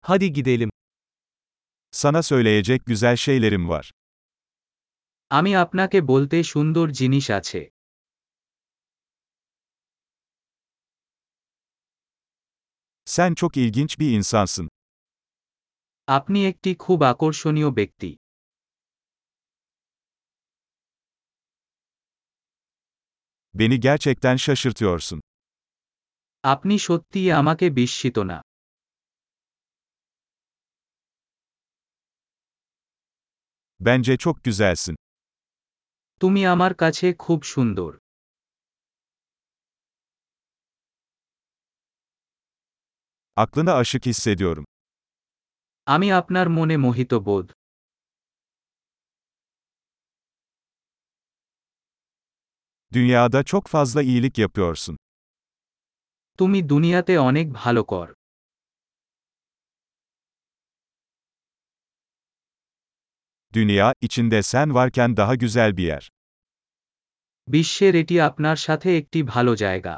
Hadi gidelim. Sana söyleyecek güzel şeylerim var. আমি আপনাকে বলতে সুন্দর জিনিস আছে। Sen çok ilginç bir insansın. আপনি একটি খুব আকর্ষণীয় ব্যক্তি। Beni gerçekten şaşırtıyorsun. আপনি সত্যিই আমাকে বিস্মিত না। Bence çok güzelsin. তুমি আমার কাছে খুব সুন্দর। Aklına aşık hissediyorum. আমি আপনার মনে মোহিত বোধ। Dünyada çok fazla iyilik yapıyorsun. তুমি দুনিয়াতে অনেক ভালো কর। Dünya, içinde sen varken daha güzel bir yer. বিশ্বের এটি আপনার সাথে একটি ভালো জায়গা।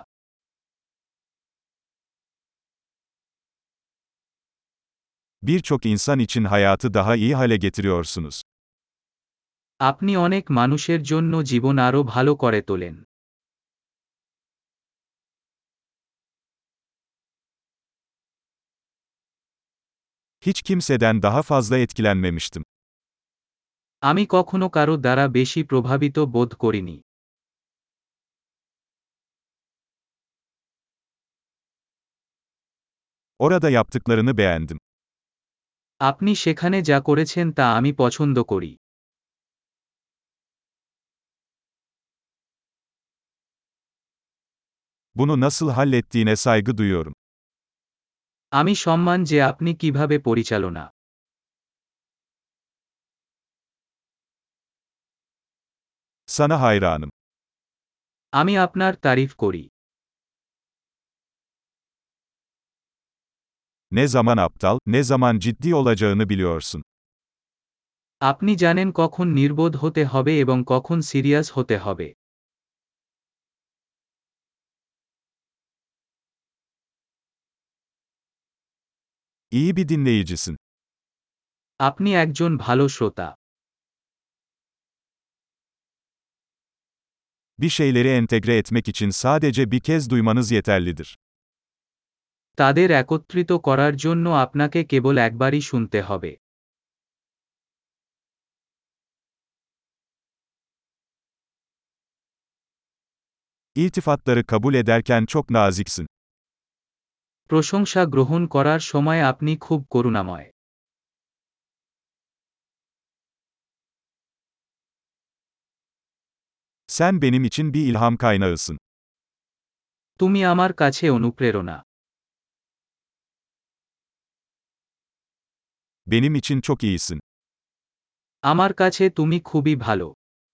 Birçok insan için hayatı daha iyi hale getiriyorsunuz. আপনি অনেক মানুষের জন্য জীবন আরও ভালো করে তোলেন। Hiç kimseden daha fazla etkilenmemiştim. আমি কখনো কারো দ্বারা বেশি প্রভাবিত বোধ করিনি। Orada yaptıklarını beğendim. আপনি সেখানে যা করেছেন তা আমি পছন্দ করি। Bunu nasıl hallettiğine saygı duyuyorum. আমি সম্মান যে আপনি কিভাবে পরিচালনা। Sana hayranım. আমি আপনার তারিফ করি। Ne zaman aptal, ne zaman ciddi olacağını biliyorsun. আপনি জানেন কখন নির্বোধ হতে হবে এবং কখন সিরিয়াস হতে হবে। İyi bir dinleyicisin. আপনি একজন ভালো শ্রোতা। Bir şeyleri entegre etmek için sadece bir kez duymanız yeterlidir. তাদের একত্রিত করার জন্য আপনাকে কেবল একবারই শুনতে হবে। İltifatları kabul ederken çok naziksin. প্রশংসা গ্রহণ করার সময় আপনি খুব করুণাময়। Sen benim için bir ilham kaynağısın. তুমি আমার কাছে অনুপ্রেরণা। Benim için çok iyisin. আমার কাছে তুমি খুবই ভালো।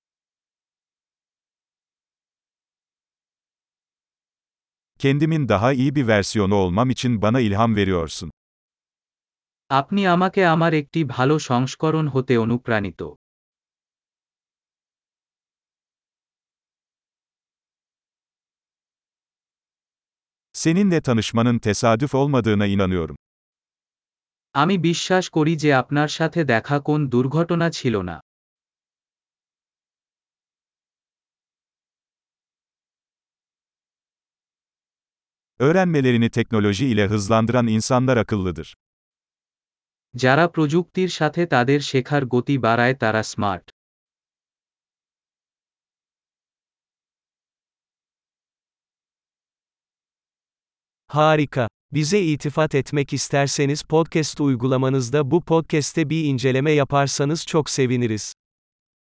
Kendimin daha iyi bir versiyonu olmam için bana ilham veriyorsun. আপনি আমাকে আমার একটি ভালো সংস্করণ হতে অনুপ্রাণিত। Seninle tanışmanın tesadüf olmadığına inanıyorum. আমি বিশ্বাস করি যে আপনার সাথে দেখা কোন দুর্ঘটনা ছিল না। Öğrenmelerini teknoloji ile hızlandıran insanlar akıllıdır. যারা প্রযুক্তির সাথে তাদের শেখার গতি বাড়ায় তারা smart. Harika. Bize iltifat etmek isterseniz podcast uygulamanızda bu podcast'te bir inceleme yaparsanız çok seviniriz.